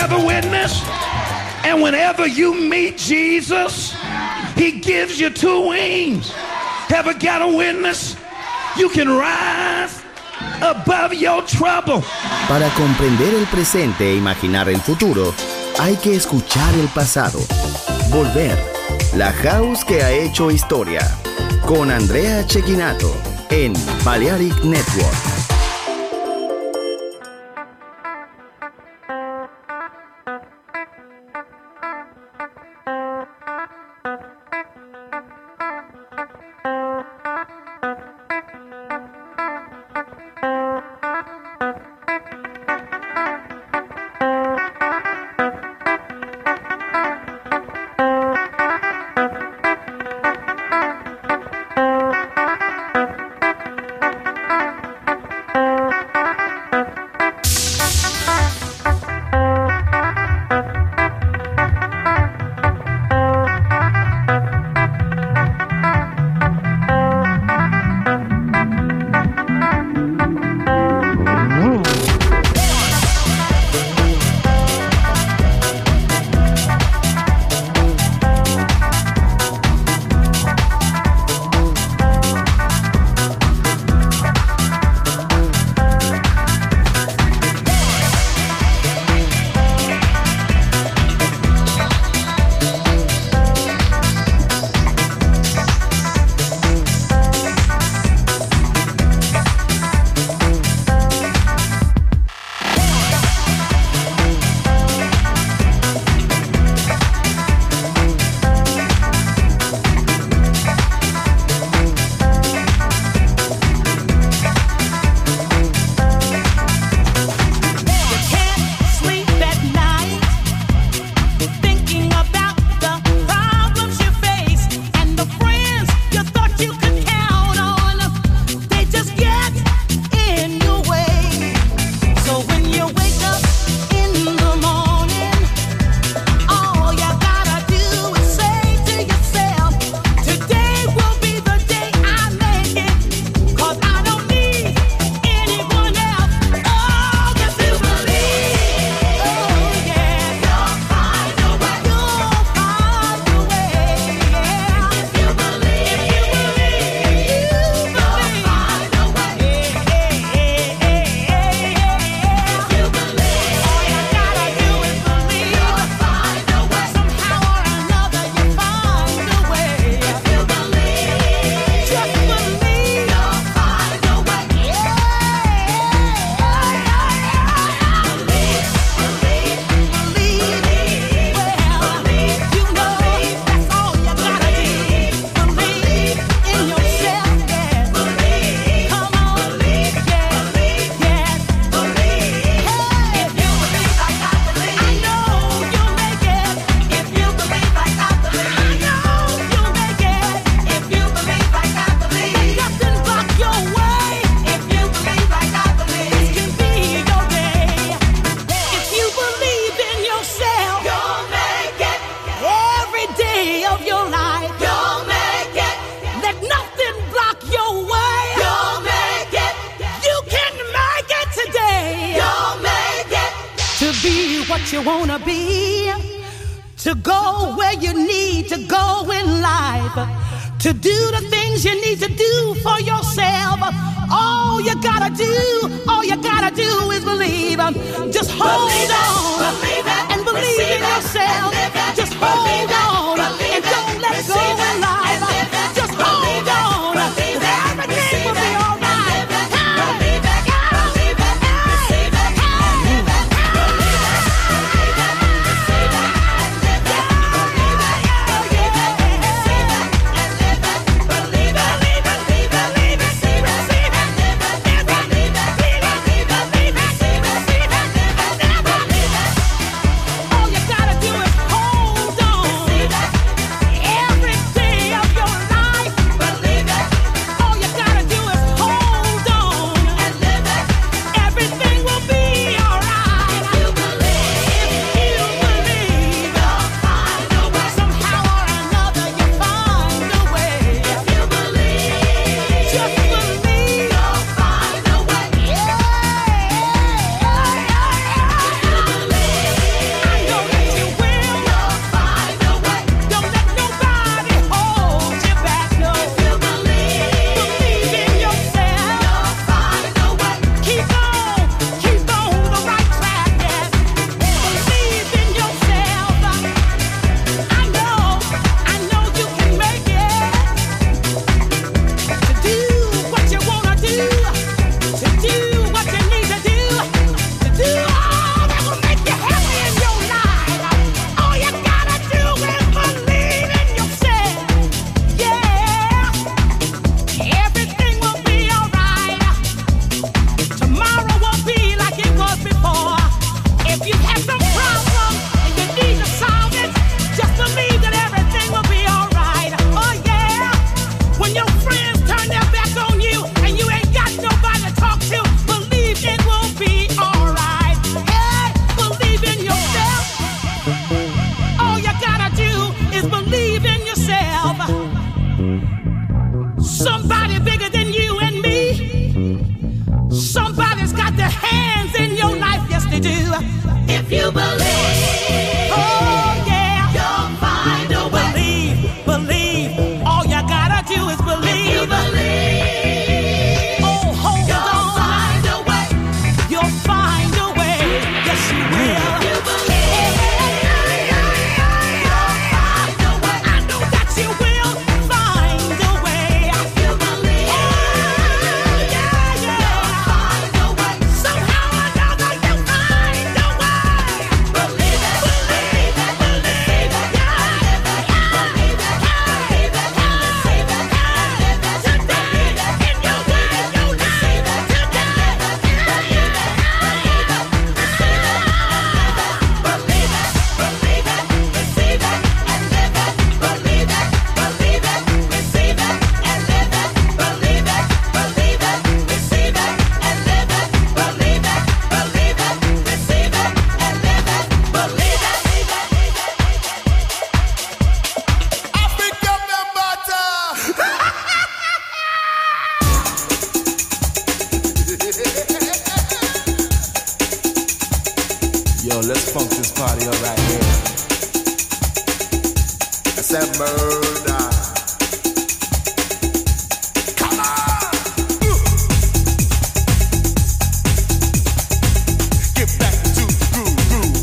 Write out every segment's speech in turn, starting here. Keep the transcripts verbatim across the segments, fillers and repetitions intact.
have a witness? And whenever you meet Jesus, he gives you two wings. Ever got a witness? You can rise above your trouble. Para comprender el presente e imaginar el futuro, hay que escuchar el pasado. Volver. La House que ha hecho historia. Con Andrea Cecchinato en Balearic Network. what you wanna be, to go where you need to go in life, to do the things you need to do for yourself. All you gotta do, all you gotta do is believe. Just hold believe on it, it, and believe in yourself. It, Just hold it, on it, and don't let go in life. It, Just hold on, everything will be all right. funk this party up right here. I said murder. Come on! Get back to the groove, groove.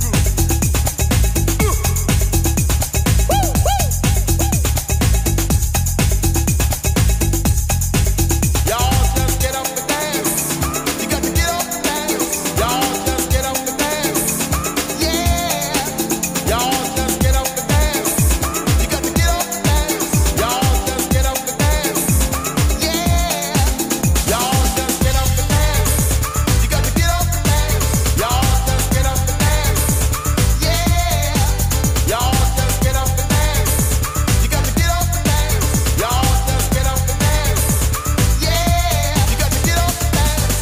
Y'all just get up and dance. You got to get up and dance. Y'all just get up and dance. Yeah. Y'all just get up and dance. You got to get up and dance. Y'all just get up and dance. Yeah. Y'all just get up and dance. You got to get up and dance. Y'all just get up and dance. Yeah. Y'all just get up and dance. You got to get up and dance. Y'all just get up and dance. Yeah. You got to get up and dance.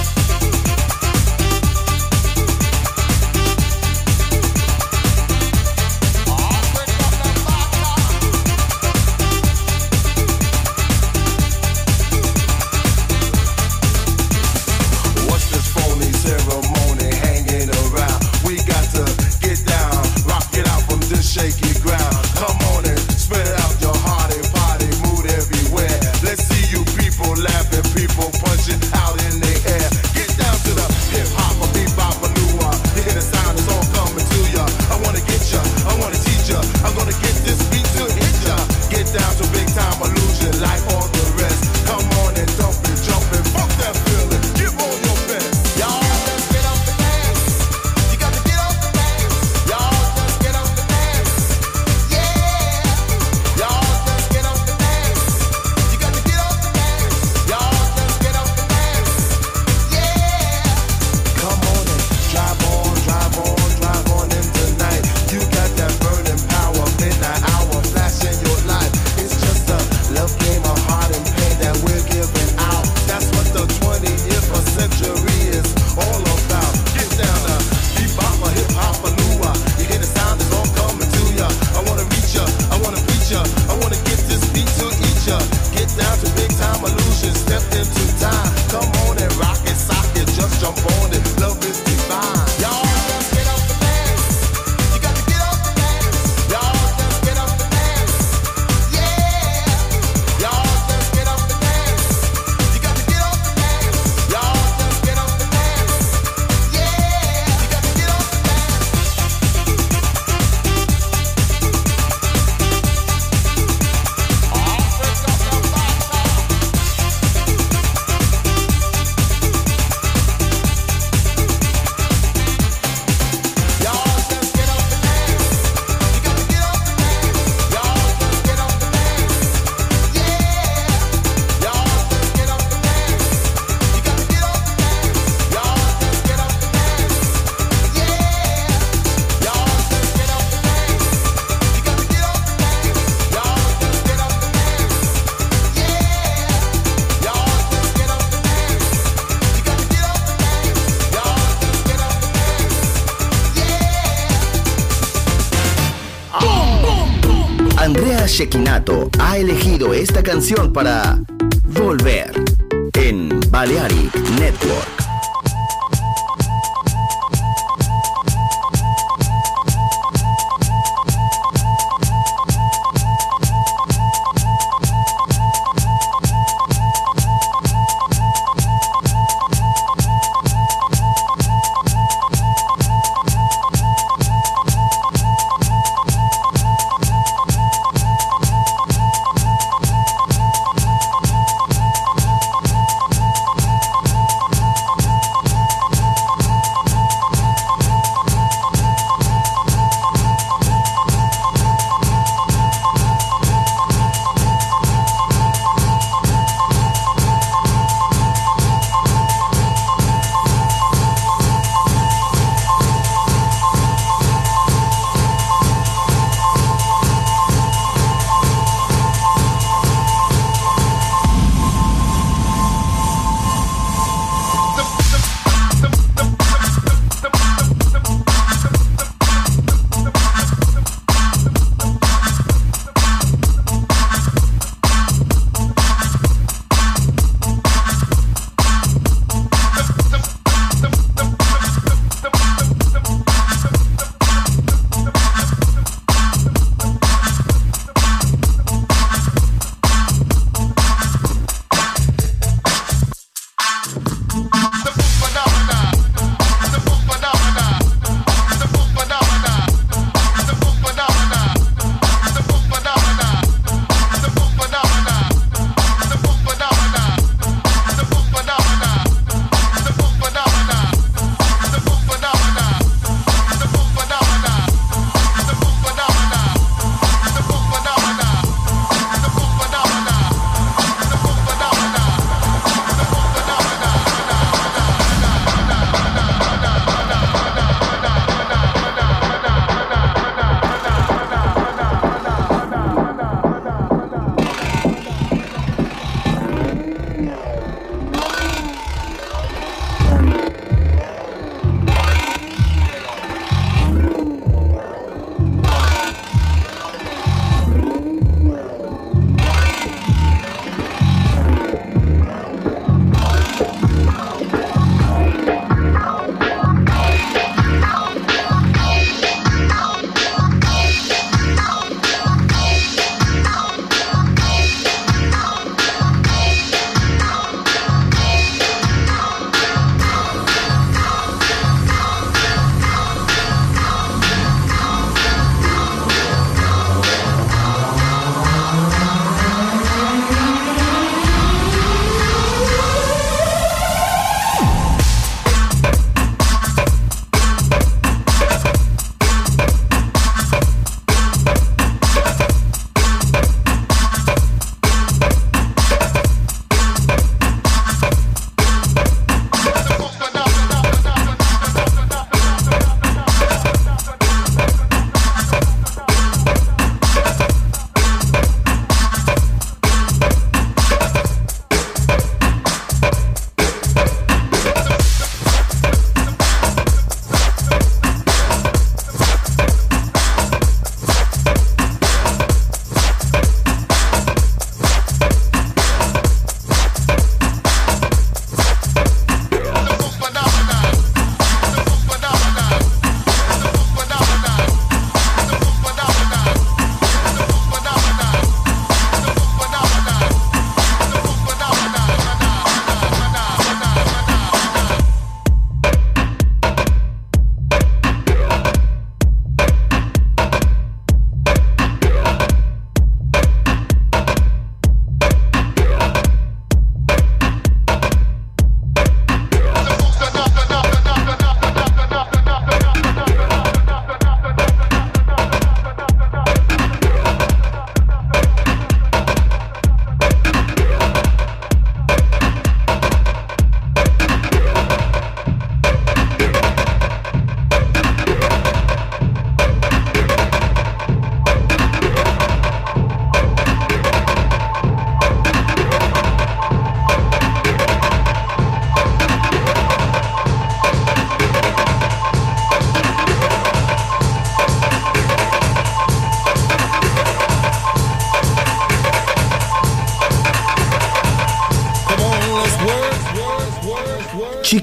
What's this phony ceremony hanging around? We got to get down, rock it out from this shaky ground. Come on and spread out your hearty party mood everywhere. Let's see you people laughing, people punching out in the air. Get down to the hip hop, a bebop, a new one. You hear the sound, it's all coming to ya. I wanna get ya, I wanna teach ya. I'm gonna get this beat to hit ya. Get down to big time illusion like all the rest. Come on and dump it, jump it, fuck that feeling. Give all your best. Y'all just get up and dance. You got to get up and dance. Y'all just get up and dance. Yeah. Y'all just get up and dance. You got to get up and dance. Y'all just get up and dance. Yeah. Come on and drive on, drive on, drive on in tonight. You got that burning power, midnight hour, flash in your life. It's just a love game of heart and pain that we're giving out. That's what the twentieth century is all about. Get down to bebop, a hip hop, a new one. You hear the sound, it's all coming to ya. I wanna reach ya, I wanna preach ya. I wanna get this beat to each ya. Get down to big time illusion, step into time. Come on and rock it, sock it, just jump on it. Love is divine. Y'all just get up and dance. You got to get up and dance. Y'all just get up and dance. Yeah. Y'all just get up and dance. You got to get up and dance. Y'all just get up and dance. Yeah. You got to get up and dance. Y'all just get up and dance. You got to get up and dance. Y'all just get up and dance. Yeah. Y'all just get up and dance. You got to get up and dance. Y'all just get up and dance. Yeah. Y'all just get up and dance. You got to get up and dance. Y'all just get up and dance. Yeah. Y'all just get up and dance. You got to get up and dance. Y'all just get up and dance. Andrea Cecchinato ha elegido esta canción para Volver en Balearic Network.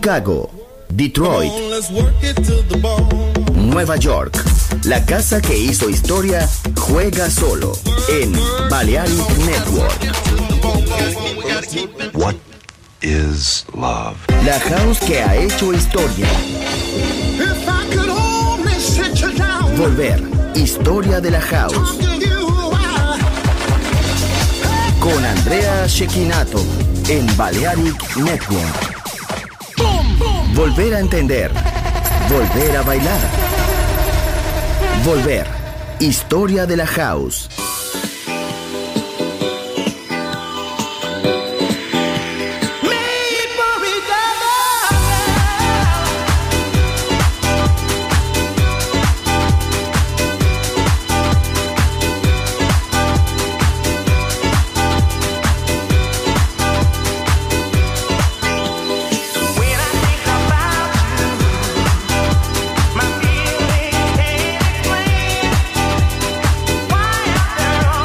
Chicago, Detroit, Nueva York. La casa que hizo historia juega solo en Balearic Network. What is love? La house que ha hecho historia. Volver, historia de la house. Con Andrea Cecchinato en Balearic Network. Volver a entender. Volver a bailar. Volver, historia de la house. Why after all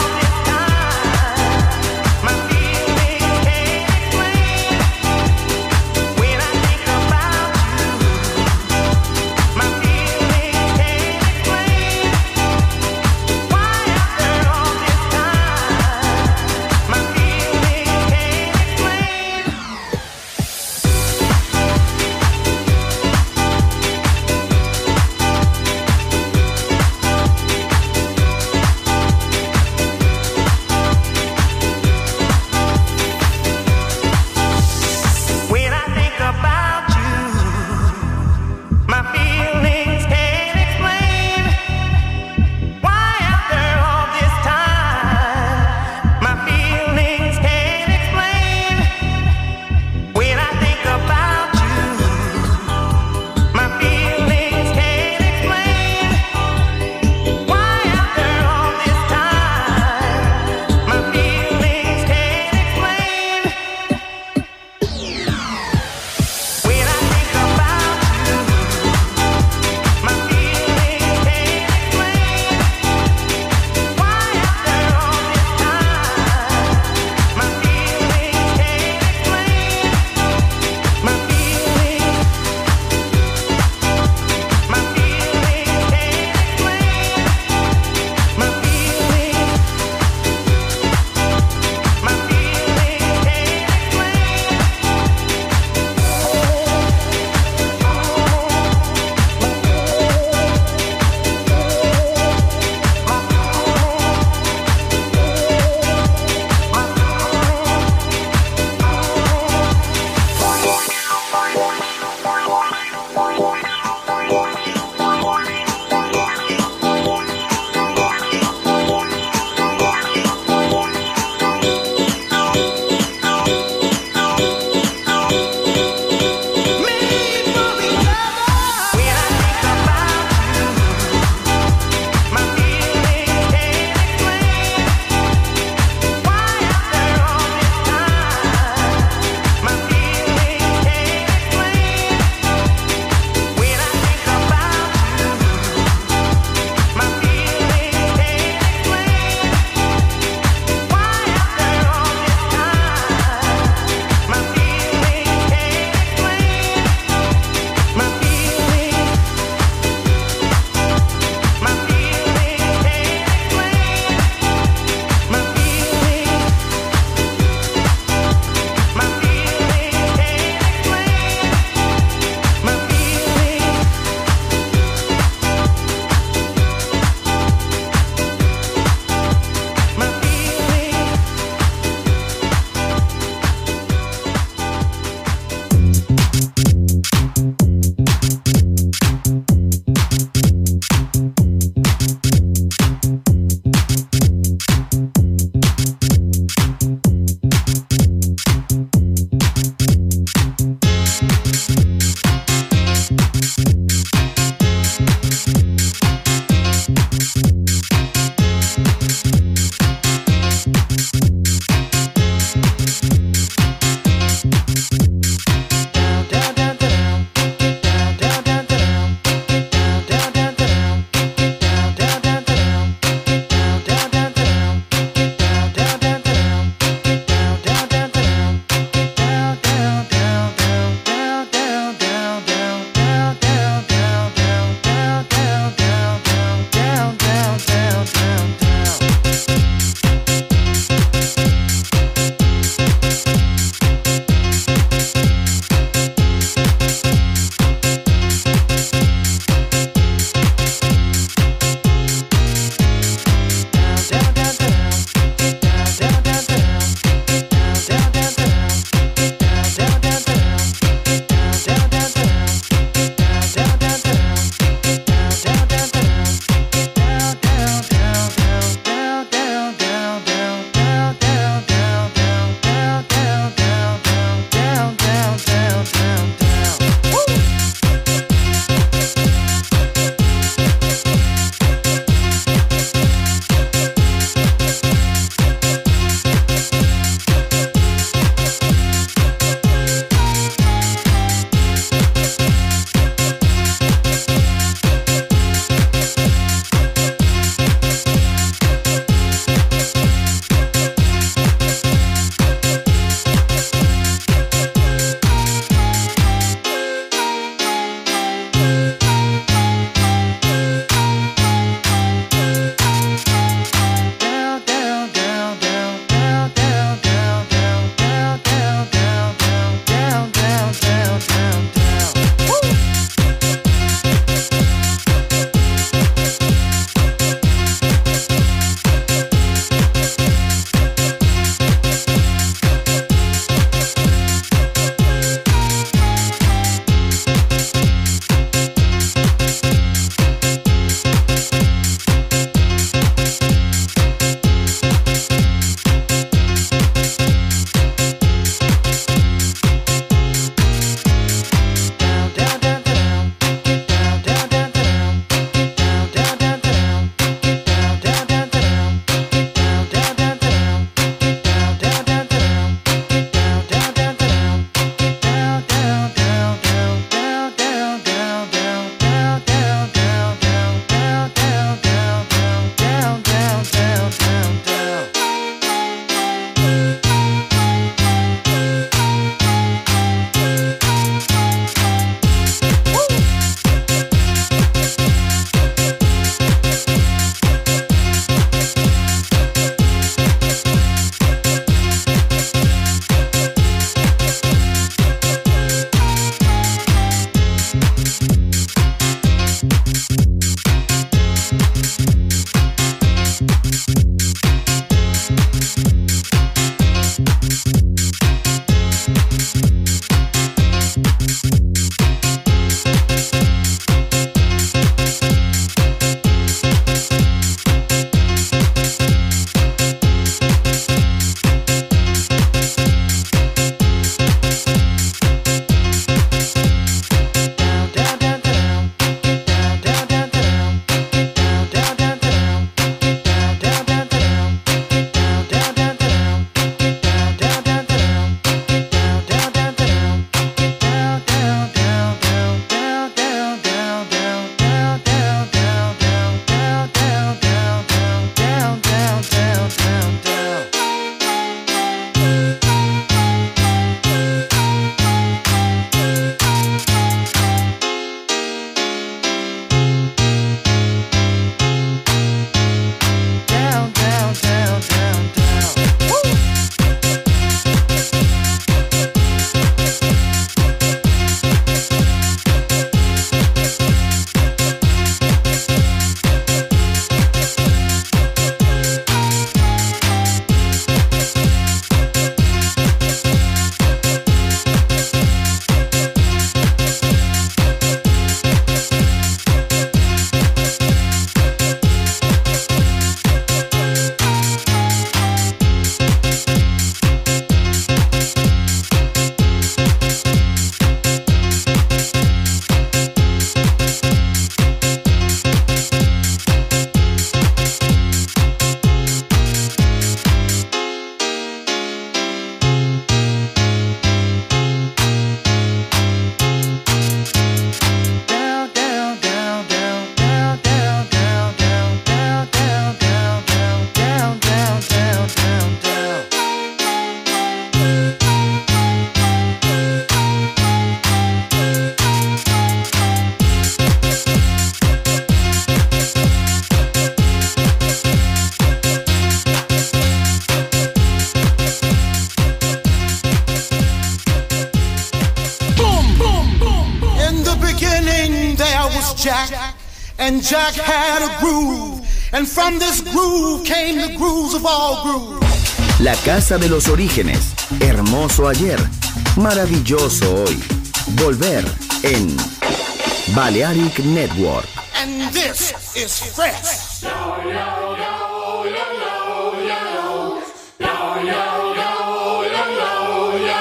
Jack had a groove, and from this groove came the grooves of all grooves. La casa de los orígenes, hermoso ayer, maravilloso hoy. Volver en Balearic Network. And this is fresh. Yo, yo, yo, yo, yo, yo, yo, yo, yo, yo, yo, yo.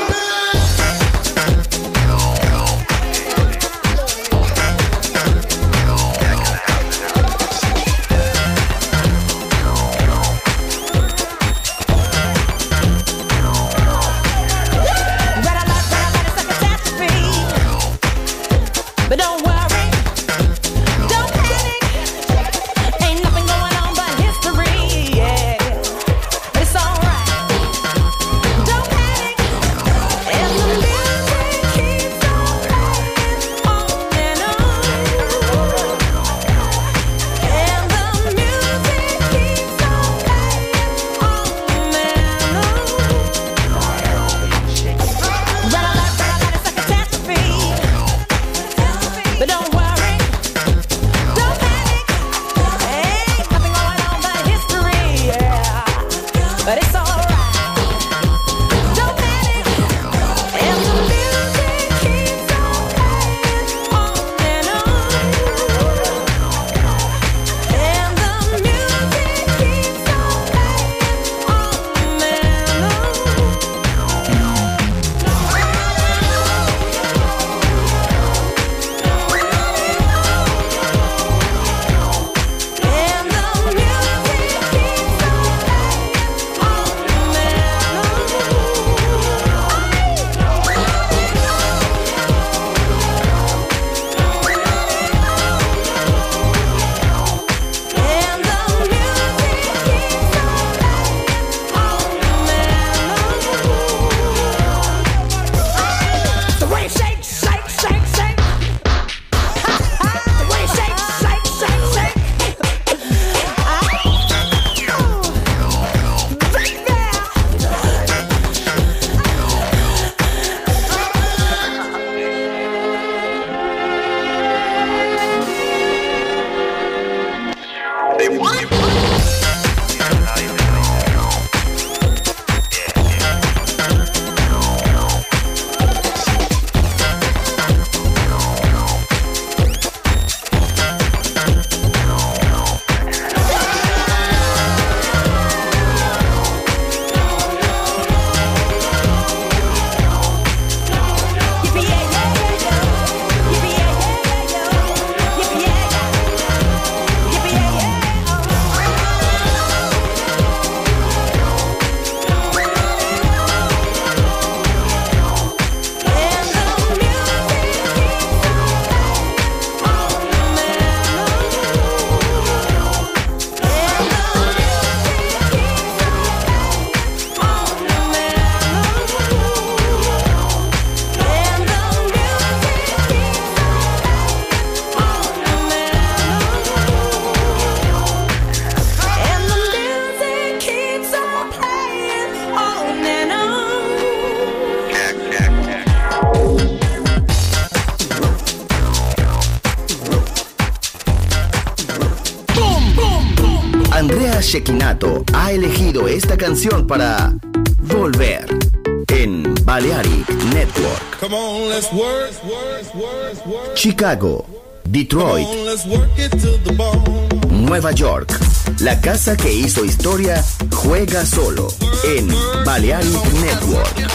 But don't worry, don't panic. Ain't nothing going on but history, yeah. It's alright. Don't panic. And the music keeps on playing on and on. And the music keeps on playing on and on. Red alert, red alert, it's a catastrophe. But don't worry, don't panic. Ain't nothing going on but history, yeah. But it's alright. Don't panic. And the music keeps on playing on and on. And the music keeps on playing on and on. And the music keeps on playing on and on. And the music keeps on playing on and on. The way it shakes, shake, shake, shake. The way it shakes, shake, shake, shake. Yippee yeah yeah yeah yeah. Yippee yeah yeah yeah yeah. Yippee yeah yeah. Yippee yeah yeah. And the music keeps on playing on and on. And the music keeps on playing on and on. And the music keeps on playing on and on. And the music keeps on playing on and on. Andrea Cecchinato ha elegido esta canción para Volver en Balearic Network. Come on, let's work, work, work, work. Chicago, Detroit, Come on, let's work it to the bone. Nueva York. La casa que hizo historia juega solo en Balearic Network.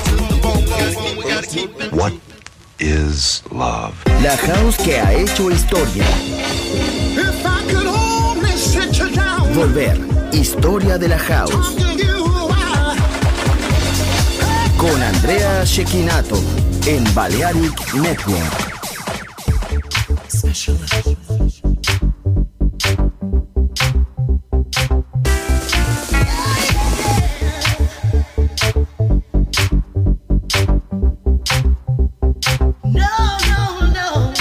What is love? La house que ha hecho historia. If I could only sit you down, Volver, historia de la house. talk to you a while. Con Andrea Cecchinato en Balearic Network. No, no, no.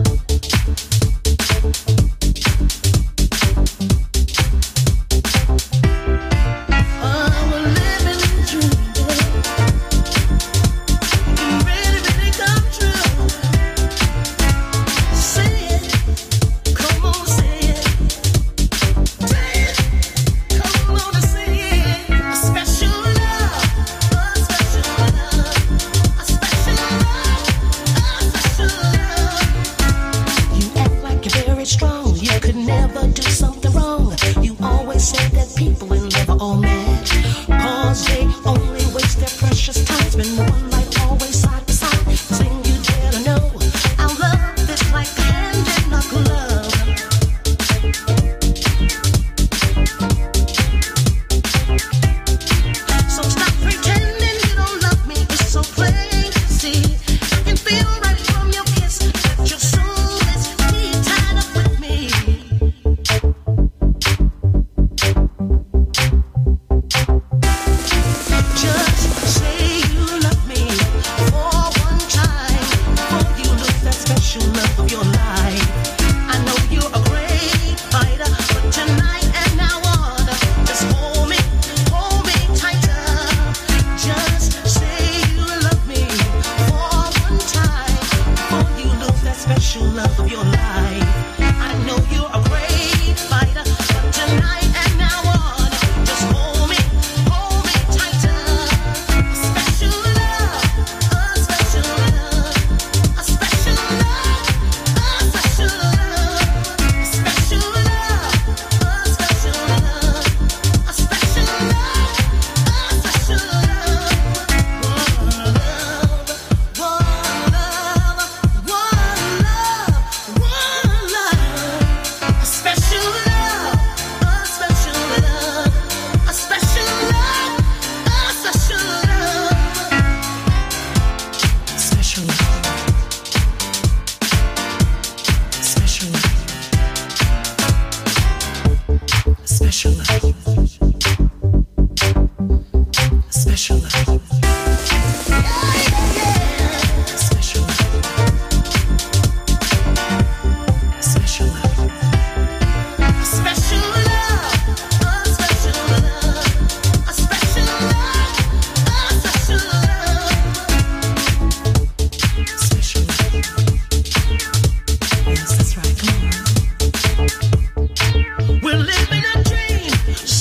Oh, we're living in the dream. It can really, really come true. do something wrong. You always say that people in love are all mad, cause they only waste their precious time. Spend one life always side to side. Thing you dare to know, our love is like hand in a glove. So stop pretending you don't love me. It's so plain to see. I can feel right from your kiss that your soul is deep tied up with me. Just say you love me for one time before you lose that special love of your life. I know you're a great fighter, but tonight and now on, just hold me, hold me tighter. Just say you love me for one time before you lose that special love of your life. I know you're a great fighter, but tonight and now on, just hold me, hold me tighter. A special love, a special love, a special love, a special love, a special love, a special love, a special love, a special love. One love, one love, one love, one love. A special love, a special love, a special love, a special love. Special love, special love, special love, special love. Special love, special love. A special love, a special love, a special love, a special love. Special love. Yes, that's right. Come on. We're living a dream.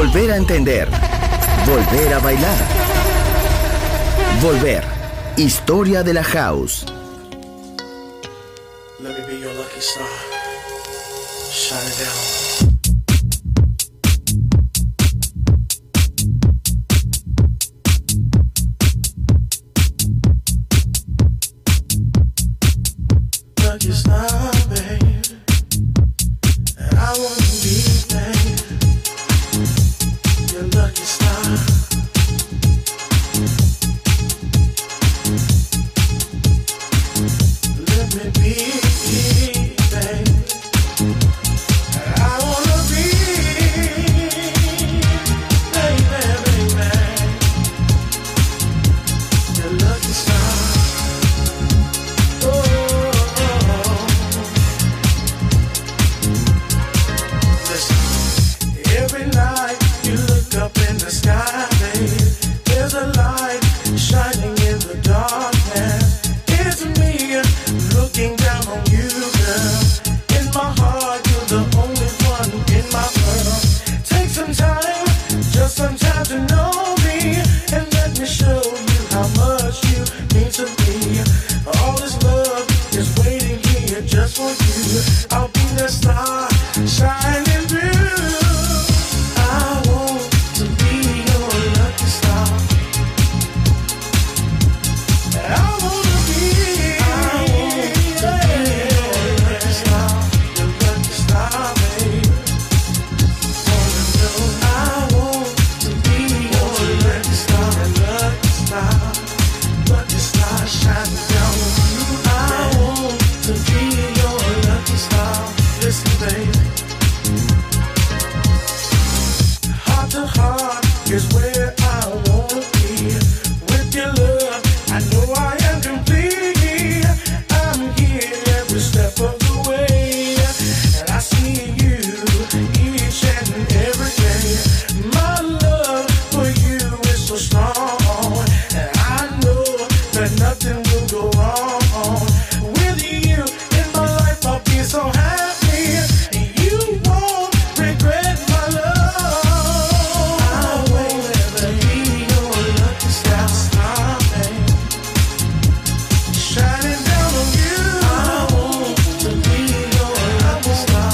Volver a entender. Volver a bailar. Volver. Historia de la house. Let me be your lucky star. Shine it down. Lucky star, babe. I want to be, babe, your lucky star. Let me be, babe. I wanna be, baby, baby, your lucky star. Oh. Every night you look up in the sky, babe, there's a light shining in the darkness. It's me looking down on you, girl. In my heart, you're the only one in my world. Take some time, just some time to know me, and let me show you how much you mean to me. All this love is waiting here just for you. I'll be the star shining through. I want to be your lucky star. I wanna be, I want to be your lucky star, your lucky star, babe. Wanna know? I want to be your lucky star, lucky star, lucky star shining down on you. I want to be your lucky star. Listen, baby. Heart to heart is where I wanna be. With your love, I know I am complete. I'm here every step of the way, and I see you each and every day. My love for you is so strong, and I know that nothing will go wrong. With you in my life, I'll be so happy. You won't regret my love. I want to be your lucky star, star, babe, shining down on you. I want to be your lucky star.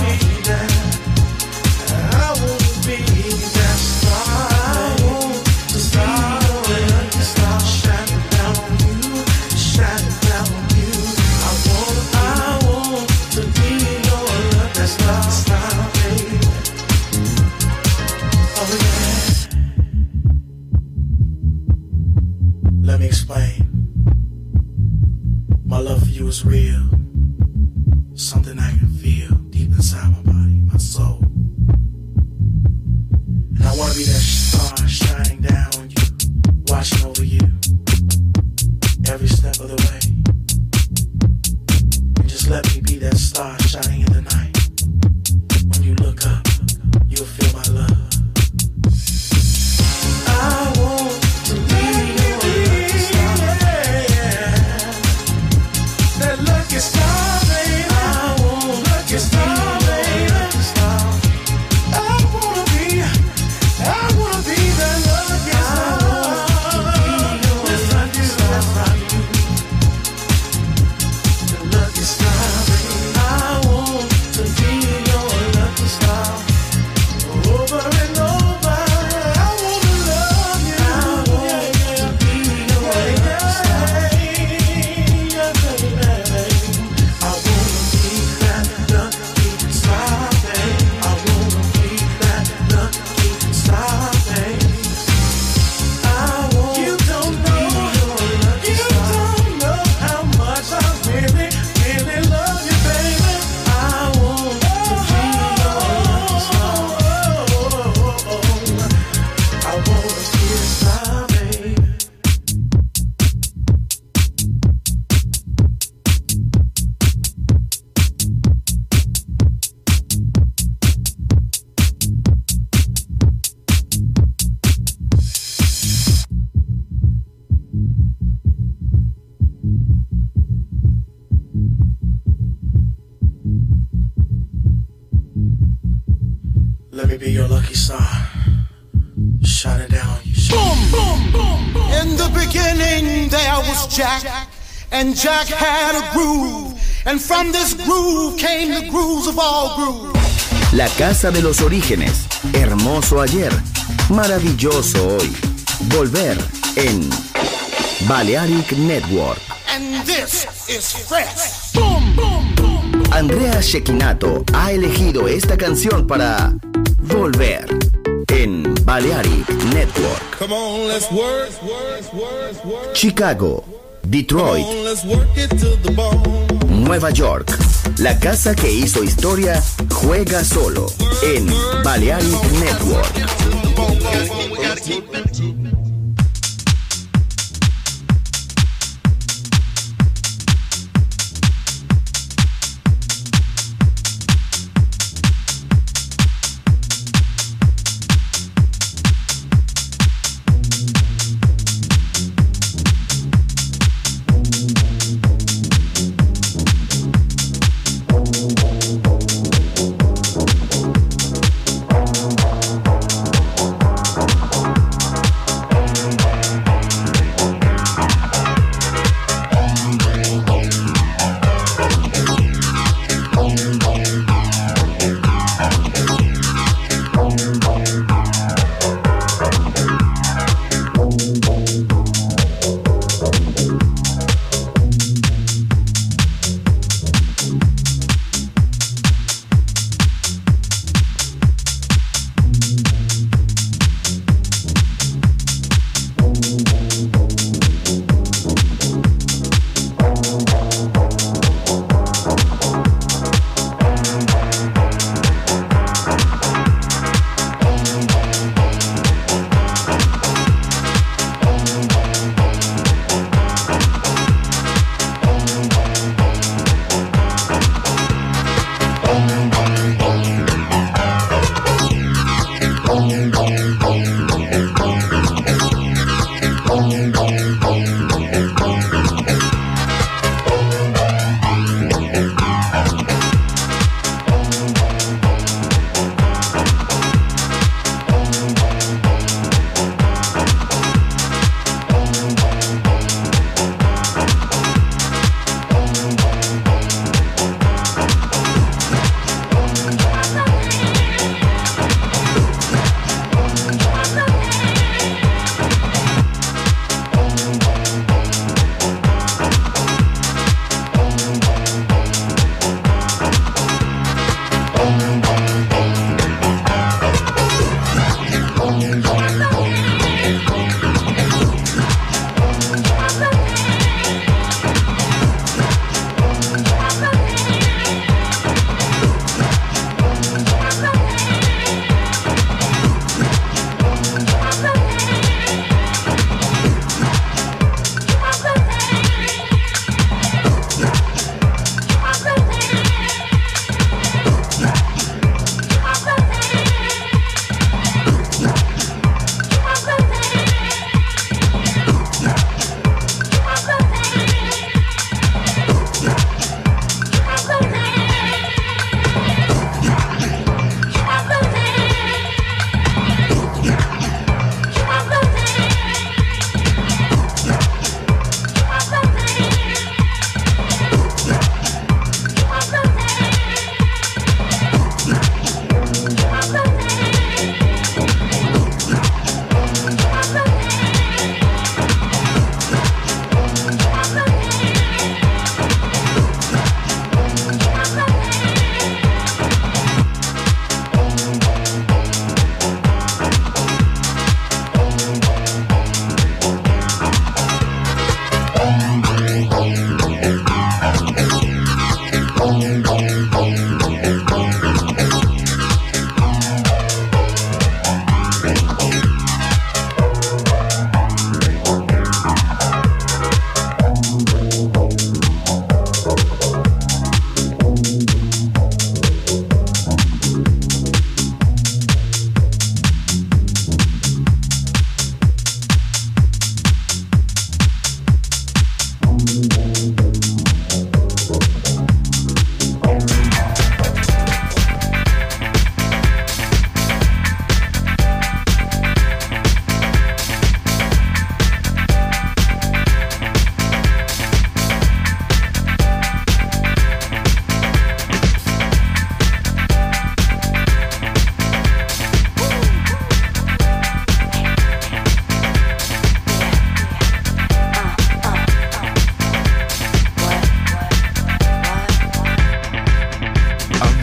I want to be that star. I want to be your lucky star, shining down on you, shining down on you. I want, I want to be your lucky star, star, baby. Oh yeah. Let me explain. My love for you is real. Something I can feel deep inside my body, my soul. And I want to be that star shining down on you, watching over you every step of the way. And just let me be that star shining in the night. When you look up, you'll feel my love. I want to be your lucky star. That lucky star, baby. I want lucky star, baby. I wanna be, I wanna be that lucky star. Yes, I do, yes, I do. The lucky star, baby. I want to be your lucky star. Over and over, I wanna love you. I want to be your lucky star. Yeah, baby. I wanna be that lucky star, baby. I wanna be that lucky star, baby. I want you don't know, you don't know how much I really, really love you, baby. I want to be your lucky star. I wanna be a star, baby. Let me be your lucky star. shut it down. Boom, boom, boom, boom. In the beginning there was Jack, and Jack had a groove, and from this groove came the grooves of all grooves. La casa de los orígenes, hermoso ayer, maravilloso hoy. Volver en Balearic Network. And this is fresh. Boom, boom, boom. Andrea Cecchinato ha elegido esta canción para Volver en Balearic Network. Come on, let's work. Chicago, Detroit, Come on, let's work it to the bone. Nueva York. La casa que hizo historia juega solo en Balearic Network.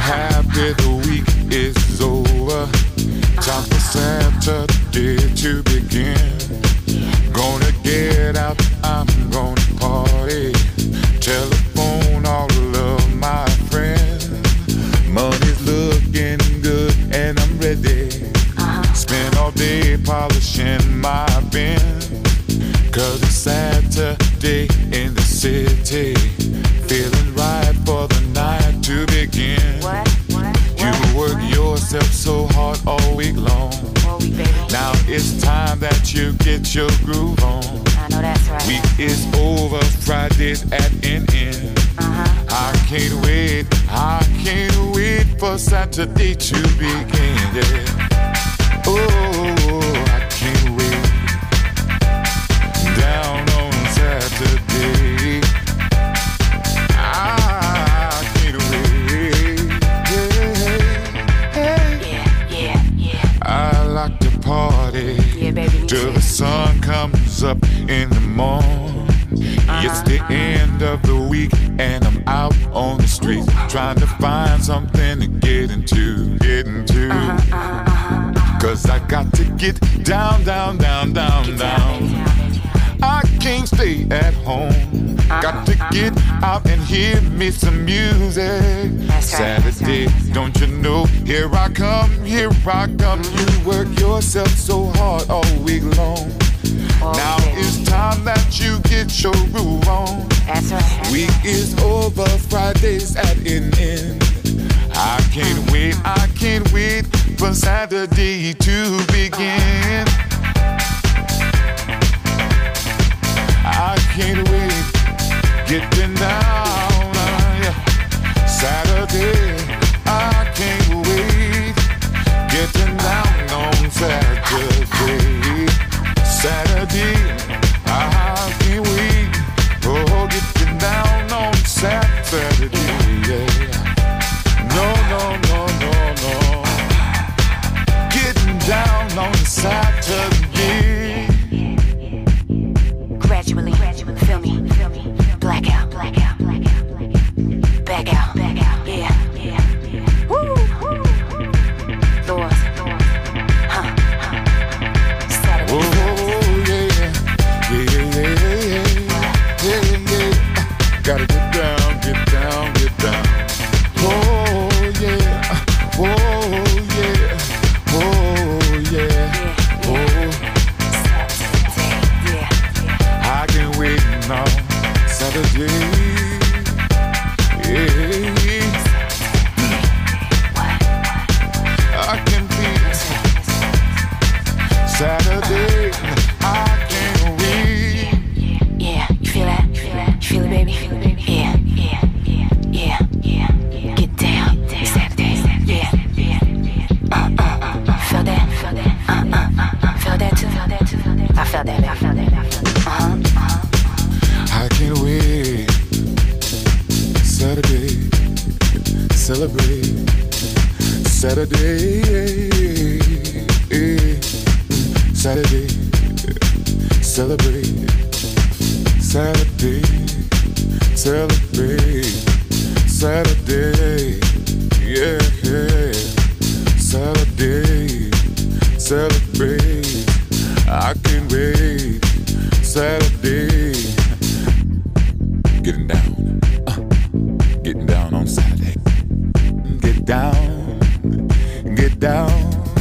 Half of the week is over. Time for Saturday to begin. Gonna get out, I'm gonna party. Telephone all of my friends. Money's looking good and I'm ready. Spend all day polishing my Benz. Cause it's Saturday in the city. Feeling right for the night to begin. What? What? You work yourself so hard all week long. All week, baby. Now it's time that you get your groove on. I know that's right. Week is over, Friday's at an end. Uh-huh. I can't wait, I can't wait for Saturday to begin. Yeah. Oh, I can't wait. Down on Saturday. I can't wait. Yeah, yeah, yeah. I like to party. Yeah, baby. Till the sun comes up in the morning. Uh-huh. It's the end of the week and I'm out on the street trying to find something to get into, get into. Uh-huh, uh-huh, uh-huh. Cause I got to get down, down, down, down, Get down. down, baby. I can't stay at home. Uh-huh, Got to uh-huh. get out and hear me some music. That's right, Saturday, that's right. don't you know? Here I come, here I come. You work yourself so hard all week long. Oh, Now baby. it's time that you get your groove on. That's right. That's Week right. is over, Friday's at an end. I can't wait, I can't wait for Saturday to begin. I can't wait, getting down, uh, yeah. Saturday, I can't wait, getting down on Saturday. Saturday, I can't wait, oh, getting down on Saturday, yeah. No, no, no, no, no, getting down on Saturday. Gradually, gradually, feel me, feel me, blackout, blackout, blackout, blackout, back out, back out, yeah, yeah, yeah. Woo, woo, Lord, Lord, huh, huh. Saturday, Oh, yeah, yeah, yeah, yeah, yeah, yeah. Gotta get down, get down, get down. Oh, yeah, oh, yeah, oh, yeah, oh. Saturday, yeah, yeah. I can wait now, Saturday. Yeah. I can be Saturday. I can't wait. Yeah, you feel that? You feel that? You feel it, baby? Feel it, baby? Yeah, yeah, yeah, yeah, yeah. Get down, Saturday. Yeah, yeah, yeah. Uh, uh, uh, uh. Feel that? Feel that? Uh, uh, uh, uh. Feel that too? Feel that too? Feel that? I felt that. I felt that. I felt that. Uh huh. Uh huh. I can't wait. Saturday, celebrate. Saturday, Saturday, celebrate. Saturday, celebrate. Saturday, yeah, yeah. Saturday, celebrate. I can't wait. Saturday, getting down, uh, getting down on Saturday. Get down, get down.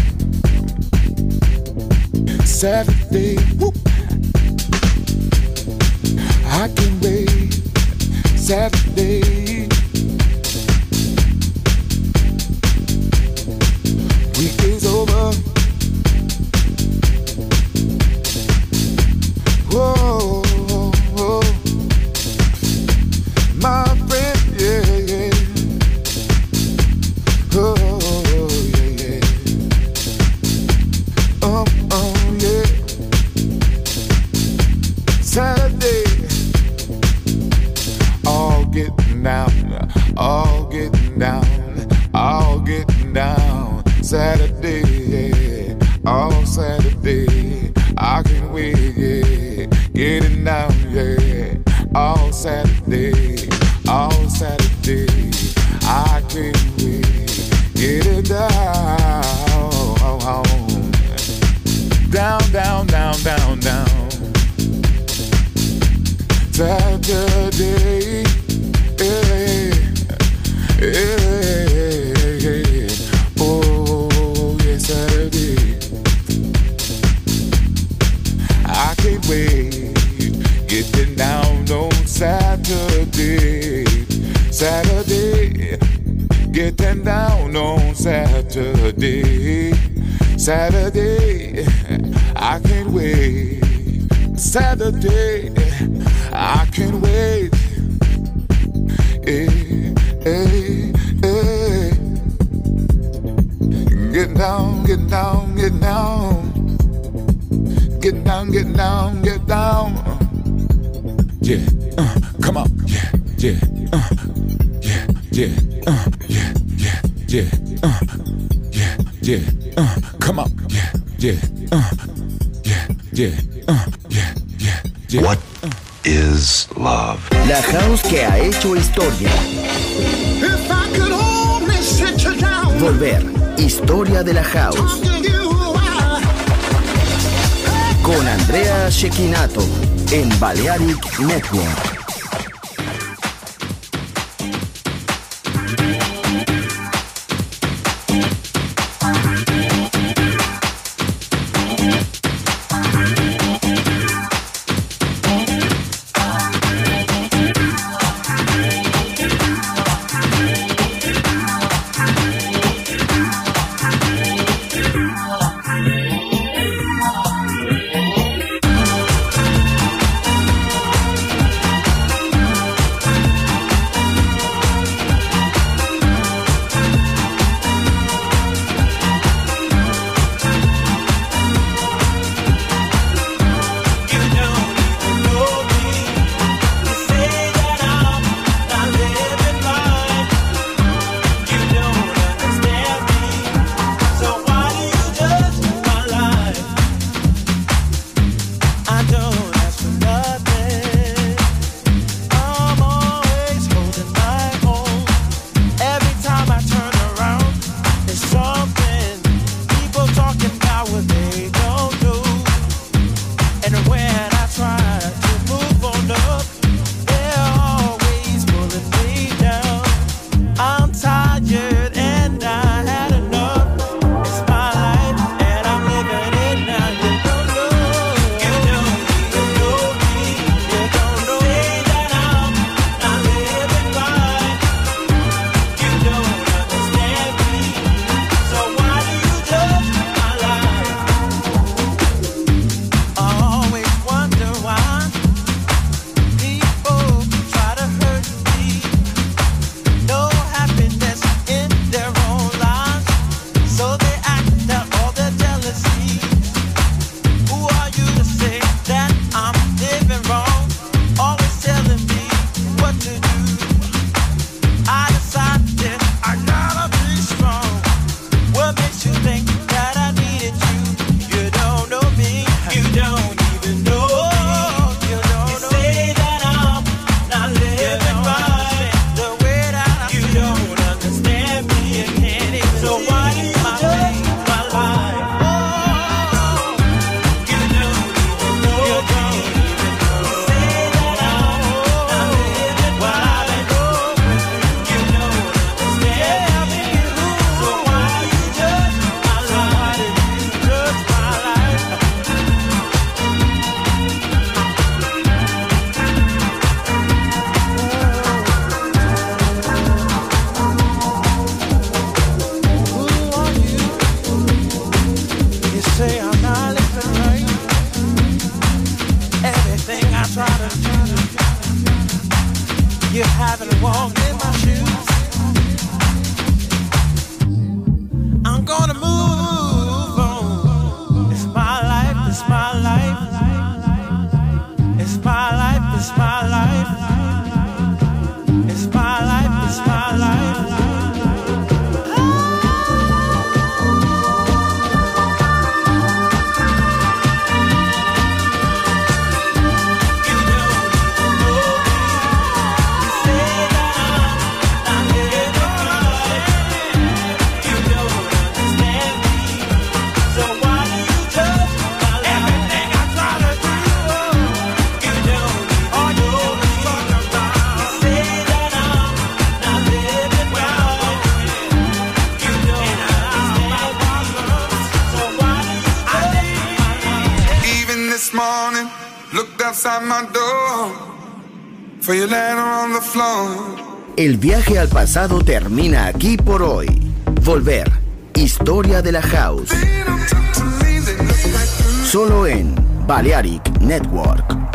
Saturday, whoop. I can wait. Saturday. Week is over. Whoa, whoa. My friend, yeah, yeah. Oh, yeah, yeah. Oh, oh, yeah. Saturday, all getting down, all getting down, all getting down. Saturday, yeah, all Saturday. I can wait, yeah, getting down, yeah, all Saturday, all Saturday. I can't wait. Saturday, yeah, yeah, oh yeah, Saturday. I can't wait, getting down on Saturday, Saturday, getting down on Saturday, Saturday. I can't wait, Saturday. I can't wait. Hey, hey, hey. Get down, get down, get down. Get down, get down, get down. Yeah, uh, come on. Yeah, yeah, uh, yeah, yeah, uh, yeah, yeah, yeah, uh, yeah, yeah, uh, come on. Yeah, yeah, uh, yeah, yeah, uh, yeah, yeah, yeah. What is love? La house que ha hecho historia. If I could only sit you down. Volver. Historia de la house. Con Andrea Cecchinato en Balearic Network. Looked outside my door for your letter on the floor. El viaje al pasado termina aquí por hoy. Volver. Historia de la House. Solo en Balearic Network.